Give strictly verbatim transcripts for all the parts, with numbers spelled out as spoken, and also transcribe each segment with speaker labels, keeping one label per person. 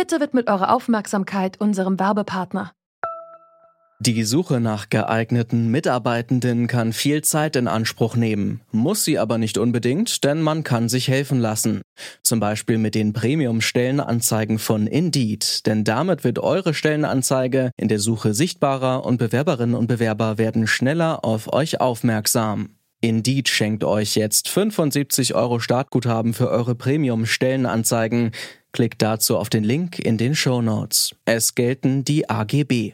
Speaker 1: Bitte widmet eure Aufmerksamkeit unserem Werbepartner.
Speaker 2: Die Suche nach geeigneten Mitarbeitenden kann viel Zeit in Anspruch nehmen, muss sie aber nicht unbedingt, denn man kann sich helfen lassen. Zum Beispiel mit den Premium-Stellenanzeigen von Indeed, denn damit wird eure Stellenanzeige in der Suche sichtbarer und Bewerberinnen und Bewerber werden schneller auf euch aufmerksam. Indeed schenkt euch jetzt fünfundsiebzig Euro Startguthaben für eure Premium-Stellenanzeigen. Klickt dazu auf den Link in den Shownotes. Es gelten die A G B.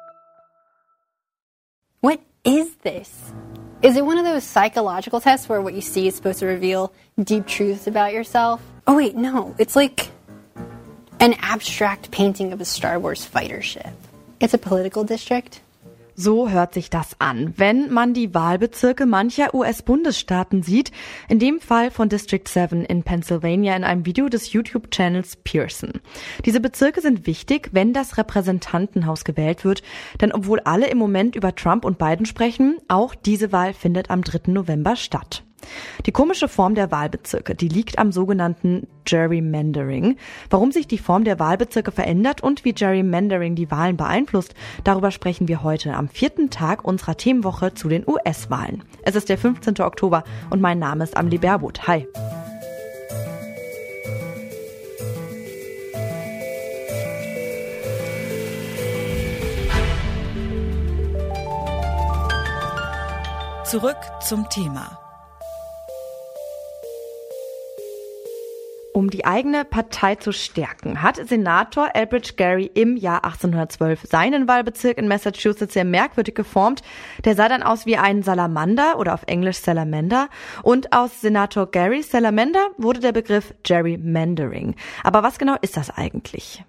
Speaker 3: What is this? Is it one of those psychological tests where what you see is supposed to reveal deep truths about yourself? Oh wait, no. It's like an abstract painting of a Star Wars fighter ship. It's a political district.
Speaker 4: So hört sich das an, wenn man die Wahlbezirke mancher U S-Bundesstaaten sieht, in dem Fall von District sieben in Pennsylvania in einem Video des YouTube-Channels Pearson. Diese Bezirke sind wichtig, wenn das Repräsentantenhaus gewählt wird, denn obwohl alle im Moment über Trump und Biden sprechen, auch diese Wahl findet am dritten November statt. Die komische Form der Wahlbezirke, die liegt am sogenannten Gerrymandering. Warum sich die Form der Wahlbezirke verändert und wie Gerrymandering die Wahlen beeinflusst, darüber sprechen wir heute am vierten Tag unserer Themenwoche zu den U S-Wahlen. Es ist der fünfzehnten Oktober und mein Name ist Amelie Baerbuth. Hi.
Speaker 5: Zurück zum Thema.
Speaker 4: Um die eigene Partei zu stärken, hat Senator Elbridge Gerry im Jahr achtzehnhundertzwölf seinen Wahlbezirk in Massachusetts sehr merkwürdig geformt. Der sah dann aus wie ein Salamander oder auf Englisch Salamander. Und aus Senator Gerrys Salamander wurde der Begriff Gerrymandering. Aber was genau ist das eigentlich?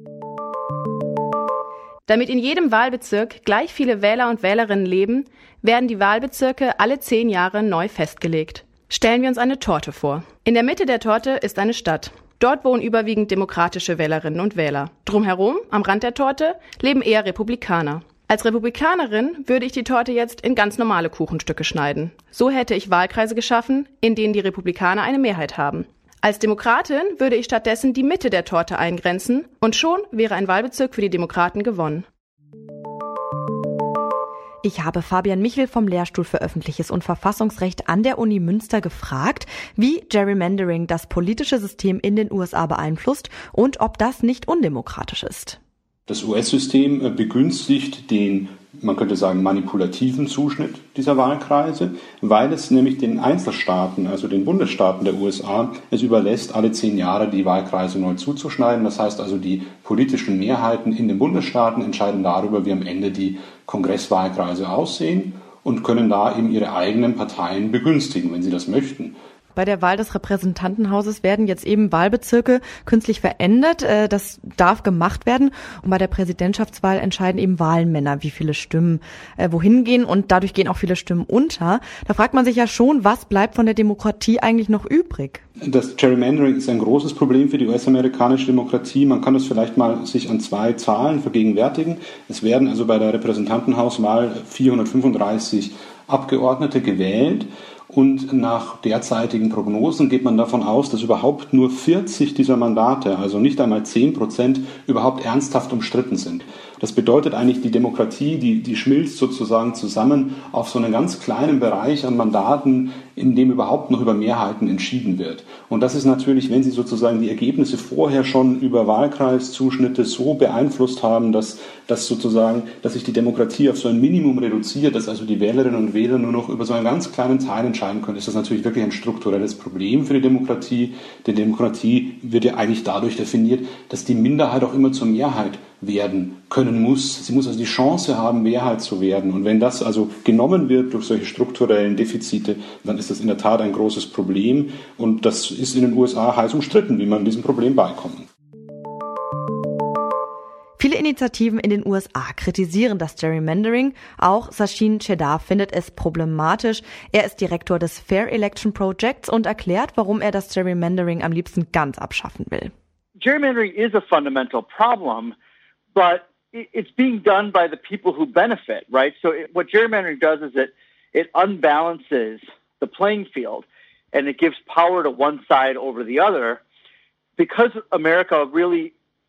Speaker 6: Damit in jedem Wahlbezirk gleich viele Wähler und Wählerinnen leben, werden die Wahlbezirke alle zehn Jahre neu festgelegt. Stellen wir uns eine Torte vor. In der Mitte der Torte ist eine Stadt. Dort wohnen überwiegend demokratische Wählerinnen und Wähler. Drumherum, am Rand der Torte, leben eher Republikaner. Als Republikanerin würde ich die Torte jetzt in ganz normale Kuchenstücke schneiden. So hätte ich Wahlkreise geschaffen, in denen die Republikaner eine Mehrheit haben. Als Demokratin würde ich stattdessen die Mitte der Torte eingrenzen und schon wäre ein Wahlbezirk für die Demokraten gewonnen.
Speaker 4: Ich habe Fabian Michel vom Lehrstuhl für Öffentliches und Verfassungsrecht an der Uni Münster gefragt, wie Gerrymandering das politische System in den U S A beeinflusst und ob das nicht undemokratisch ist.
Speaker 7: Das U S-System begünstigt den, man könnte sagen, manipulativen Zuschnitt dieser Wahlkreise, weil es nämlich den Einzelstaaten, also den Bundesstaaten der U S A, es überlässt, alle zehn Jahre die Wahlkreise neu zuzuschneiden. Das heißt also, die politischen Mehrheiten in den Bundesstaaten entscheiden darüber, wie am Ende die Kongresswahlkreise aussehen und können da eben ihre eigenen Parteien begünstigen, wenn sie das möchten.
Speaker 4: Bei der Wahl des Repräsentantenhauses werden jetzt eben Wahlbezirke künstlich verändert. Das darf gemacht werden. Und bei der Präsidentschaftswahl entscheiden eben Wahlmänner, wie viele Stimmen äh, wohin gehen. Und dadurch gehen auch viele Stimmen unter. Da fragt man sich ja schon, was bleibt von der Demokratie eigentlich noch übrig?
Speaker 7: Das Gerrymandering ist ein großes Problem für die U S-amerikanische Demokratie. Man kann das vielleicht mal sich an zwei Zahlen vergegenwärtigen. Es werden also bei der Repräsentantenhauswahl vierhundertfünfunddreißig Abgeordnete gewählt. Und nach derzeitigen Prognosen geht man davon aus, dass überhaupt nur vierzig dieser Mandate, also nicht einmal zehn Prozent, überhaupt ernsthaft umstritten sind. Das bedeutet eigentlich, die Demokratie, die, die schmilzt sozusagen zusammen auf so einen ganz kleinen Bereich an Mandaten, in dem überhaupt noch über Mehrheiten entschieden wird. Und das ist natürlich, wenn Sie sozusagen die Ergebnisse vorher schon über Wahlkreiszuschnitte so beeinflusst haben, dass, dass sozusagen, dass sich die Demokratie auf so ein Minimum reduziert, dass also die Wählerinnen und Wähler nur noch über so einen ganz kleinen Teil entscheiden können, ist das natürlich wirklich ein strukturelles Problem für die Demokratie. Denn Demokratie wird ja eigentlich dadurch definiert, dass die Minderheit auch immer zur Mehrheit werden können muss. Sie muss also die Chance haben, Mehrheit zu werden. Und wenn das also genommen wird durch solche strukturellen Defizite, dann ist das in der Tat ein großes Problem. Und das ist in den U S A heiß umstritten, wie man diesem Problem beikommt.
Speaker 4: Viele Initiativen in den U S A kritisieren das Gerrymandering. Auch Sachin Chedar findet es problematisch. Er ist Direktor des Fair Election Projects und erklärt, warum er das Gerrymandering am liebsten ganz abschaffen will.
Speaker 8: Gerrymandering is a fundamental problem, but it's being done by the people who benefit, right? So it, what gerrymandering does is it it unbalances the playing field and it gives power to one side over the other. Because America really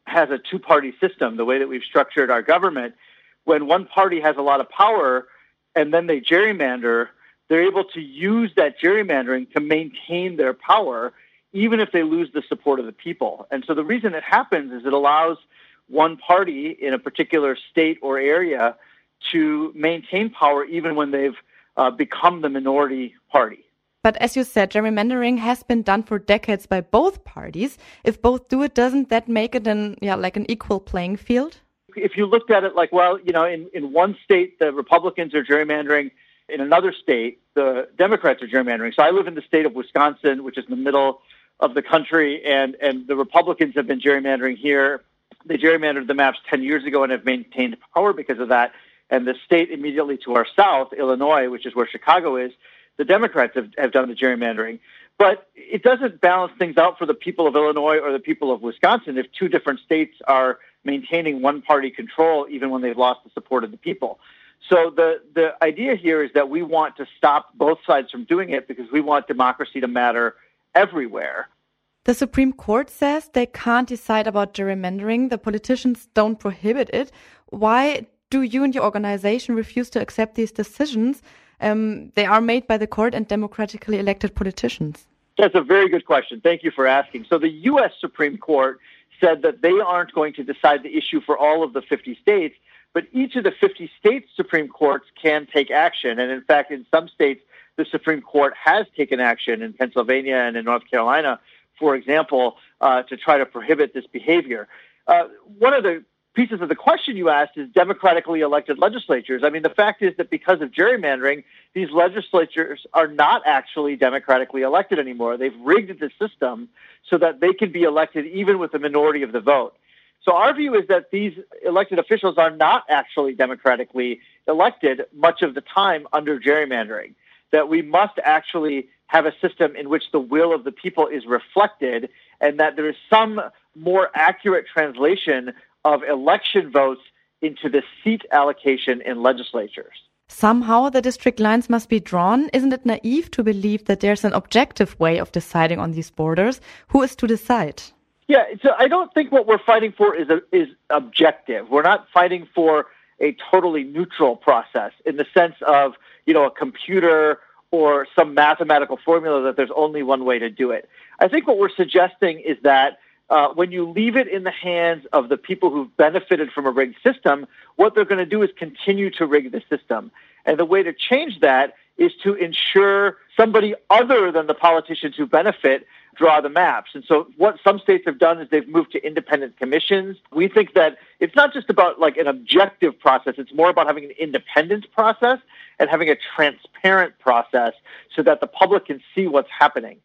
Speaker 8: has a two-party system, the way that we've structured our government, when one party has a lot of power and then they gerrymander, they're able to use that gerrymandering to maintain their power, even if they lose the support of the people. And so the reason it happens is it allows one party in a particular state or area to maintain power even when they've uh, become the minority party.
Speaker 4: But as you said, gerrymandering has been done for decades by both parties. If both do it, doesn't that make it an, yeah, like an equal playing field?
Speaker 8: If you looked at it like, well, you know, in, in one state, the Republicans are gerrymandering. In another state, the Democrats are gerrymandering. So I live in the state of Wisconsin, which is in the middle of the country, and, and the Republicans have been gerrymandering here. They gerrymandered the maps ten years ago and have maintained power because of that. And the state immediately to our south, Illinois, which is where Chicago is, the Democrats have, have done the gerrymandering. But it doesn't balance things out for the people of Illinois or the people of Wisconsin if two different states are maintaining one-party control even when they've lost the support of the people. So the, the idea here is that we want to stop both sides from doing it because we want democracy to matter everywhere.
Speaker 4: The Supreme Court says they can't decide about gerrymandering. The politicians don't prohibit it. Why do you and your organization refuse to accept these decisions? Um, they are made by the court and democratically elected politicians.
Speaker 8: That's a very good question. Thank you for asking. So the U S Supreme Court said that they aren't going to decide the issue for all of the fifty states, but each of the fifty states' Supreme Courts can take action. And in fact, in some states, the Supreme Court has taken action in Pennsylvania and in North Carolina, for example, uh, to try to prohibit this behavior. Uh, one of the pieces of the question you asked is democratically elected legislatures. I mean, the fact is that because of gerrymandering, these legislatures are not actually democratically elected anymore. They've rigged the system so that they can be elected even with a minority of the vote. So our view is that these elected officials are not actually democratically elected much of the time under gerrymandering, that we must actually have a system in which the will of the people is reflected and that there is some more accurate translation of election votes into the seat allocation in legislatures.
Speaker 4: Somehow the district lines must be drawn. Isn't it naive to believe that there's an objective way of deciding on these borders? Who is to decide?
Speaker 8: Yeah, so I don't think what we're fighting for is a, is objective. We're not fighting for a totally neutral process in the sense of, you know, a computer or some mathematical formula that there's only one way to do it. I think what we're suggesting is that uh, when you leave it in the hands of the people who've benefited from a rigged system, what they're going to do is continue to rig the system. And the way to change that is to ensure somebody other than the politicians who benefit draw the maps. And so what some states have done is they've moved to independent commissions. We think that it's not just about like an objective process. It's more about having an independent process and having a transparent process so that the public can see what's happening.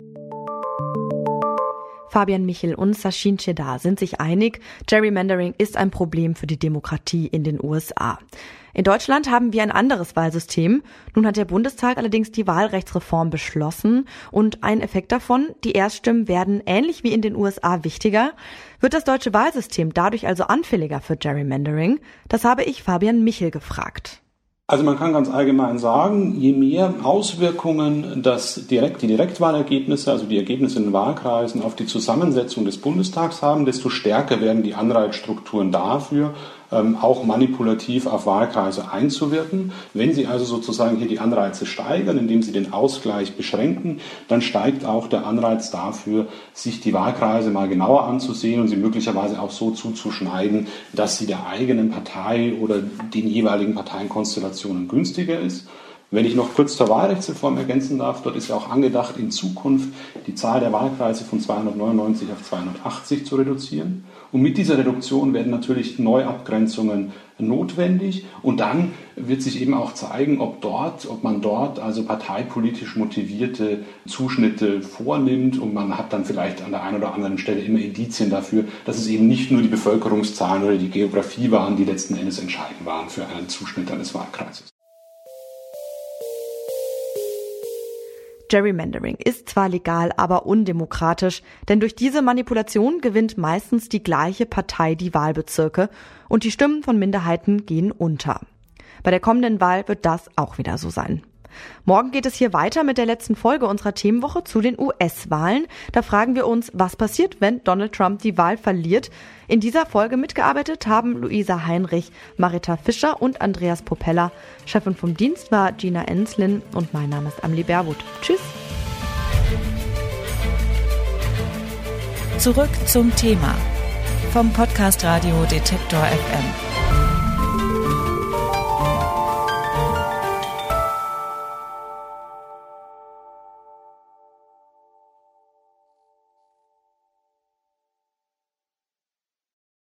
Speaker 4: Fabian Michel und Sachin Chedar sind sich einig, Gerrymandering ist ein Problem für die Demokratie in den U S A. In Deutschland haben wir ein anderes Wahlsystem. Nun hat der Bundestag allerdings die Wahlrechtsreform beschlossen und ein Effekt davon, die Erststimmen werden ähnlich wie in den U S A wichtiger. Wird das deutsche Wahlsystem dadurch also anfälliger für Gerrymandering? Das habe ich Fabian Michel gefragt.
Speaker 7: Also man kann ganz allgemein sagen, je mehr Auswirkungen das direkt, die Direktwahlergebnisse, also die Ergebnisse in den Wahlkreisen auf die Zusammensetzung des Bundestags haben, desto stärker werden die Anreizstrukturen dafür, ähm, auch manipulativ auf Wahlkreise einzuwirken. Wenn Sie also sozusagen hier die Anreize steigern, indem Sie den Ausgleich beschränken, dann steigt auch der Anreiz dafür, sich die Wahlkreise mal genauer anzusehen und sie möglicherweise auch so zuzuschneiden, dass sie der eigenen Partei oder den jeweiligen Parteienkonstellationen günstiger ist. Wenn ich noch kurz zur Wahlrechtsreform ergänzen darf, dort ist ja auch angedacht, in Zukunft die Zahl der Wahlkreise von zweihundertneunundneunzig auf zweihundertachtzig zu reduzieren. Und mit dieser Reduktion werden natürlich Neuabgrenzungen notwendig. Und dann wird sich eben auch zeigen, ob dort, ob man dort also parteipolitisch motivierte Zuschnitte vornimmt. Und man hat dann vielleicht an der einen oder anderen Stelle immer Indizien dafür, dass es eben nicht nur die Bevölkerungszahlen oder die Geografie waren, die letzten Endes entscheidend waren für einen Zuschnitt eines Wahlkreises.
Speaker 4: Gerrymandering ist zwar legal, aber undemokratisch, denn durch diese Manipulation gewinnt meistens die gleiche Partei die Wahlbezirke und die Stimmen von Minderheiten gehen unter. Bei der kommenden Wahl wird das auch wieder so sein. Morgen geht es hier weiter mit der letzten Folge unserer Themenwoche zu den U S-Wahlen. Da fragen wir uns, was passiert, wenn Donald Trump die Wahl verliert. In dieser Folge mitgearbeitet haben Luisa Heinrich, Marita Fischer und Andreas Popella. Chefin vom Dienst war Gina Enslin und mein Name ist Amelie Baerwood. Tschüss.
Speaker 5: Zurück zum Thema vom Podcast Radio Detektor F M.